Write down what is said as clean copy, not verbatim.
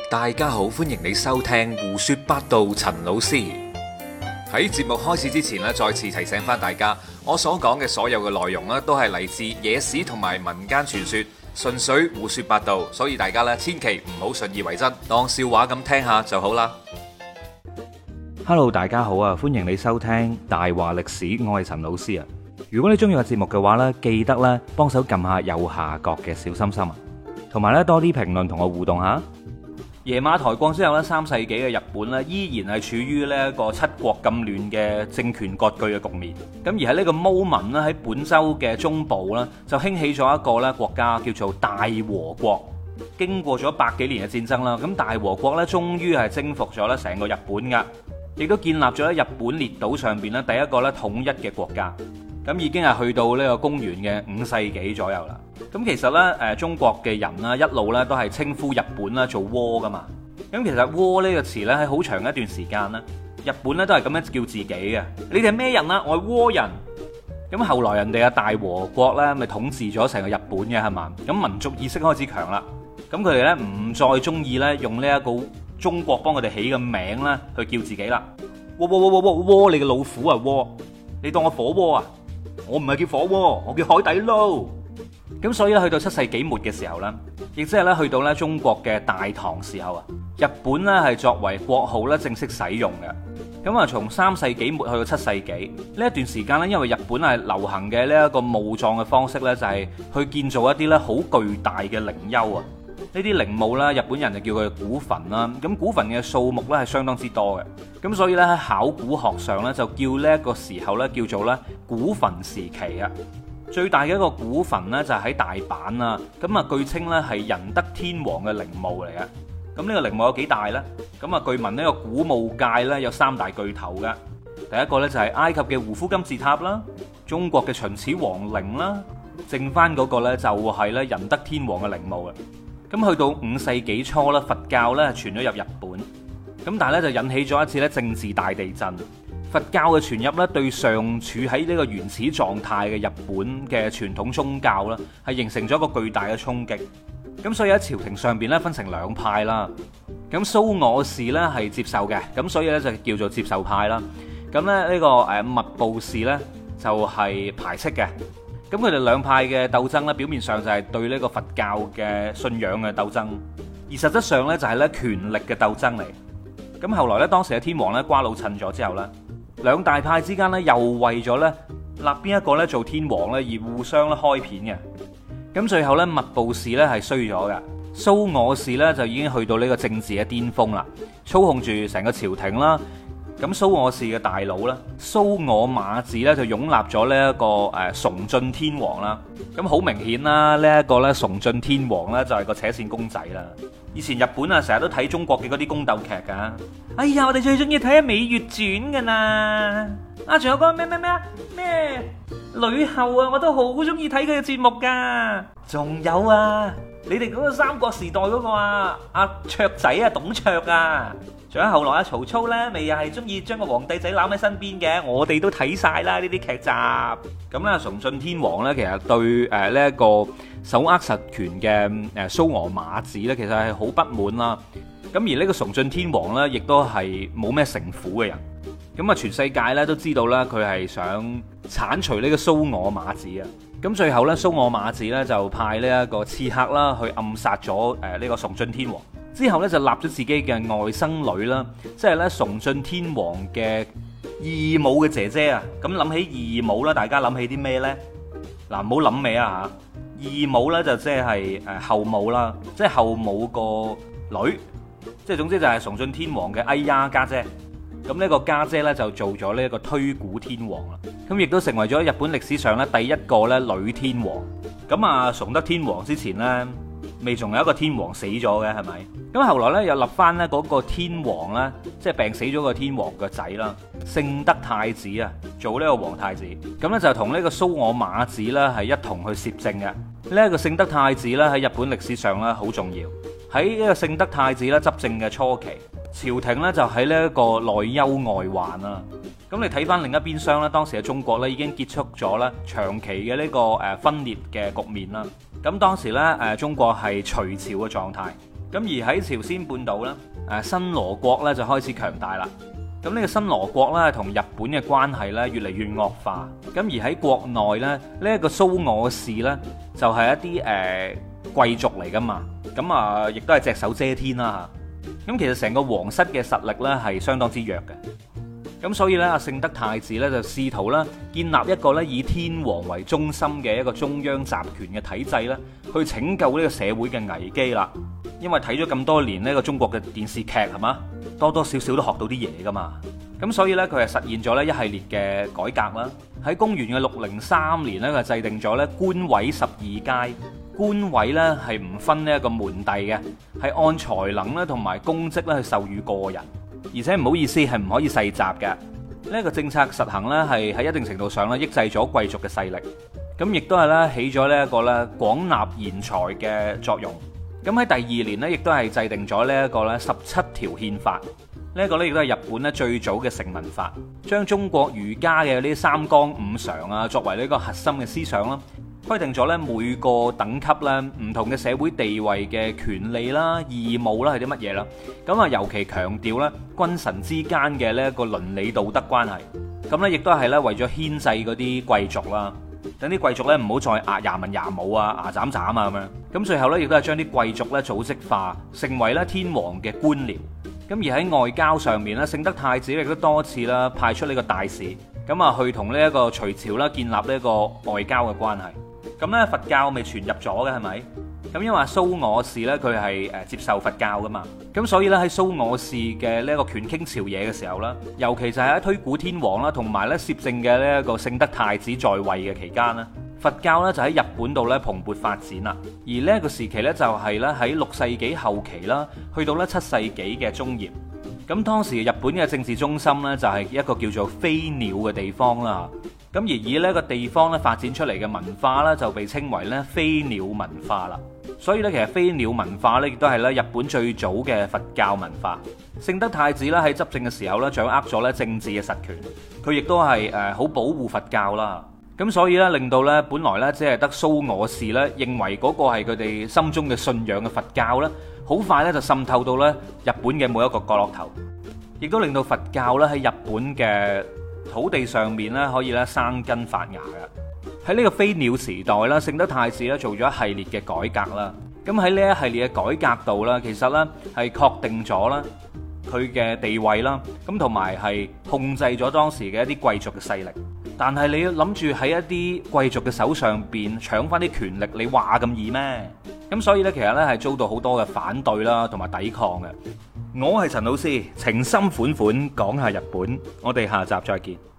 大家好，歡迎你收聽胡說八道。陳老師喺節目開始之前咧，再次提醒翻大家，我所講嘅所有嘅內容咧，都係嚟自野史同埋民間傳說，純粹胡說八道，所以大家咧千祈唔好信以為真，當笑話咁聽下就好啦。 Hello， 大家好啊，歡迎你收聽大話歷史，我係陳老師啊。如果你中意個節目嘅話呢，記得咧幫手撳下右下角嘅小心心啊，同埋咧多啲評論同我互動下。耶馬台國之後咧，3世紀嘅日本咧，依然係處於呢一個七國咁亂嘅政權割據嘅局面。咁而喺呢個 moment 咧，喺本州嘅中部咧，就興起咗一個咧國家叫做大和國。經過咗百幾年嘅戰爭啦，咁大和國咧終於係征服咗咧成個日本噶，亦都建立咗咧日本列島上邊咧第一個咧統一嘅國家。咁已經係去到呢個公元嘅5世紀左右啦。咁其實呢，中國嘅人啦，一路呢都係稱呼日本啦做倭噶嘛。咁其實倭呢個詞呢，喺好長一段時間呢，日本呢都係咁樣叫自己嘅。你哋係咩人啊？我係倭人。咁後來人哋嘅大和國呢，咪統治咗成個日本嘅係嘛？咁民族意識開始強啦。咁佢哋呢，唔再中意呢用呢一個中國幫佢哋起嘅名呢去叫自己啦。倭，你嘅老虎啊倭！你當我火鍋啊？我唔係叫火鍋，我叫海底撈。咁所以咧，去到7世紀末嘅時候呢，亦即係咧去到咧中國嘅大唐時候啊，日本咧係作為國號咧正式使用嘅。咁啊，從3世紀末去到7世紀呢一段時間咧，因為日本係流行嘅呢一個墓葬嘅方式咧，就係去建造一啲咧好巨大嘅陵丘啊。呢啲陵墓啦，日本人就叫佢古墳啦。咁古墳嘅數目咧係相當之多嘅。咁所以咧喺考古學上咧就叫呢一個時候咧叫做咧古墳時期啊。最大嘅一個古墳咧就喺大阪啊。咁啊據稱咧係仁德天皇嘅陵墓嚟嘅。咁呢個陵墓有幾大呢？咁啊據聞呢個古墓界咧有3大巨頭嘅。第一個咧就係埃及嘅胡夫金字塔啦，中國嘅秦始皇陵啦，剩翻嗰個咧就係咧仁德天皇嘅陵墓啊。咁去到5世紀初咧，佛教咧傳咗入日本，咁但係咧就引起咗一次咧政治大地震。佛教嘅傳入咧，對尚處喺呢個原始狀態嘅日本嘅傳統宗教咧，係形成咗一個巨大嘅衝擊。咁所以喺朝廷上邊咧分成2派啦。咁蘇我氏咧係接受嘅，咁所以咧就叫做接受派啦。咁咧呢個密布氏咧就係排斥嘅。咁佢哋2派嘅鬥爭咧，表面上就係對呢個佛教嘅信仰嘅鬥爭，而實質上咧就係咧權力嘅鬥爭嚟。咁後來咧，當時嘅天皇咧瓜老襯咗之後咧，2大派之間咧又為咗咧立邊一個咧做天皇咧而互相咧開片嘅。咁最後咧密布氏咧係衰咗嘅，蘇我氏咧就已經去到呢個政治嘅巔峰啦，操控住成個朝廷啦。咁蘇我氏嘅大佬咧，蘇我馬子咧就擁立咗呢一個崇峻天皇啦。咁好明顯啦，呢一個咧崇峻天皇咧就係個扯線公仔啦。以前日本啊成日都睇中國嘅嗰啲宮鬥劇噶。哎呀，我哋最中意睇下《羋月傳》噶啦。啊，仲有個咩呂后啊，我都好中意睇佢嘅節目噶。仲有啊，你哋嗰個三國時代嗰個啊，阿卓仔啊，董卓啊。仲有後來阿曹操咧，咪又係中意將個皇帝仔攬喺身邊嘅，我哋都睇晒啦呢啲劇集。咁咧，崇峻天皇咧，其實對呢一個手握實權嘅蘇我馬子咧，其實係好不滿啦。咁而呢個崇峻天皇咧，亦都係冇咩城府嘅人。咁啊，全世界咧都知道咧，佢係想剷除呢個蘇我馬子啊。咁最後咧，蘇我馬子咧就派呢一個刺客啦去暗殺咗呢個崇峻天皇。之後咧就立咗自己嘅外甥女啦，即係咧崇峻天皇嘅義母嘅姐姐啊。咁諗起義母啦，大家諗起啲咩呢？嗱，唔好諗尾啊嚇！義母咧就即係後母啦，即係後母個女，即係總之就係崇峻天皇嘅哎呀家姐。咁呢個家姐咧就做咗呢一個推古天皇啦。咁亦都成為咗日本歷史上咧第一個咧女天皇。咁啊，崇德天皇之前咧，未仲有一個天皇死咗嘅係咪？咁後來咧又立翻咧嗰個天皇咧，即係病死咗個天皇個仔啦，聖德太子啊，做呢個皇太子。咁咧就同呢個蘇我馬子啦係一同去攝政嘅。呢一個聖德太子咧喺日本歷史上咧好重要。喺呢個聖德太子咧執政嘅初期，朝廷咧就喺呢一個內憂外患啦。咁你睇翻另一邊廂咧，當時嘅中國咧已經結束咗咧長期嘅呢個分裂嘅局面啦。咁當時咧中國係隋朝嘅狀態。 咁而喺朝鮮半島咧，新羅國咧就開始強大啦。咁呢個新羅國咧同日本嘅關係咧越嚟越惡化。咁而喺國內咧，呢一個蘇我氏咧就係一啲貴族嚟噶嘛。咁啊，亦都係隻手遮天啦嚇。咁其實成個皇室嘅實力咧係相當之弱嘅。咁所以咧，阿聖德太子咧就試圖咧建立一個咧以天皇為中心嘅一個中央集權嘅體制咧，去拯救呢個社會嘅危機啦。因為睇咗咁多年呢個中國嘅電視劇係嘛，多多少少都學到啲嘢噶嘛。咁所以咧，佢係實現咗咧一系列嘅改革啦。喺公元嘅603年咧，佢制定咗咧官位12階。官位咧係唔分呢一個門第嘅，係按才能咧同埋功績咧去授予個人。而且唔好意思，係唔可以世襲嘅。呢一個政策實行呢，係喺一定程度上咧抑制咗貴族嘅勢力，咁亦都係咧起咗呢一個咧廣納賢才嘅作用。咁喺第二年呢，亦都係制定咗呢一個咧17條憲法。呢一個咧亦都係日本咧最早嘅成文法，將中國儒家嘅呢三綱五常啊作為呢個核心嘅思想啦。規定咗咧每個等級咧唔同嘅社會地位嘅權利啦、義務啦係啲乜嘢啦。咁啊，尤其強調咧君臣之間嘅呢一個倫理道德關係。咁咧亦都係咧為咗牽制嗰啲貴族啦，等啲貴族咧唔好再牙文牙武啊、牙斬斬啊咁樣。咁最後咧亦都係將啲貴族咧組織化，成為咧天皇嘅官僚。咁而喺外交上面咧，聖德太子亦都多次啦派出呢個大使，咁啊去同呢一個隋朝啦建立呢一個外交嘅關係。咁咧佛教未傳入咗嘅係咪？咁因為蘇我氏咧佢係接受佛教噶嘛，咁所以咧喺蘇我氏嘅呢一個權傾朝野嘅時候啦，尤其就係喺推古天皇啦，同埋咧攝政嘅呢一個聖德太子在位嘅期間啦，佛教咧就喺日本度咧蓬勃發展啦。而呢一個時期咧就係咧喺6世紀後期啦，去到咧7世紀嘅中葉。咁當時日本嘅政治中心咧就係一個叫做飛鳥嘅地方啦。咁而以呢個地方咧發展出嚟嘅文化咧，就被稱為咧飛鳥文化啦。所以咧，其實飛鳥文化咧，亦都係咧日本最早嘅佛教文化。聖德太子咧喺執政嘅時候咧，掌握咗咧政治嘅實權，佢亦都係好保護佛教啦。咁所以咧，令到咧本來咧只係得蘇我氏咧認為嗰個係佢哋心中嘅信仰嘅佛教咧，好快咧就滲透到咧日本嘅每一個角落頭，亦都令到佛教咧喺日本嘅土地上面咧可以咧生根發芽嘅。喺呢個飛鳥時代啦，聖德太子咧做咗一系列嘅改革啦。咁喺呢一系列嘅改革度啦，其實咧係確定咗啦佢嘅地位啦，咁同埋係控制咗當時嘅一啲貴族嘅勢力。但係你要諗住喺一啲貴族嘅手上邊搶翻啲權力，你話咁易咩？咁所以呢，其實呢係遭到好多嘅反對啦，同埋抵抗嘅。我係陳老師，情深款款講下日本，我哋下集再見。